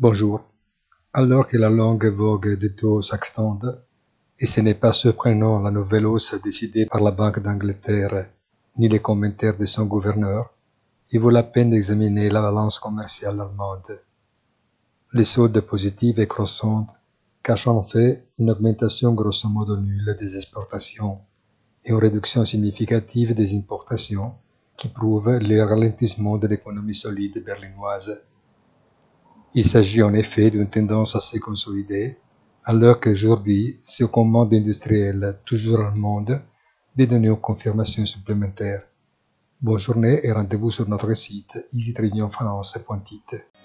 Bonjour. Alors que la longue vogue des taux s'extende, et ce n'est pas surprenant la nouvelle hausse décidée par la Banque d'Angleterre, ni les commentaires de son gouverneur, il vaut la peine d'examiner la balance commerciale allemande. Les soldes positives et croissantes cachent en fait une augmentation grosso modo nulle des exportations et une réduction significative des importations qui prouvent le ralentissement de l'économie solide berlinoise. Il s'agit en effet d'une tendance assez consolidée, alors qu'aujourd'hui, c'est aux commandes industrielles, toujours allemandes, de donner une confirmation supplémentaire. Bonne journée et rendez-vous sur notre site easytrionfinance.it.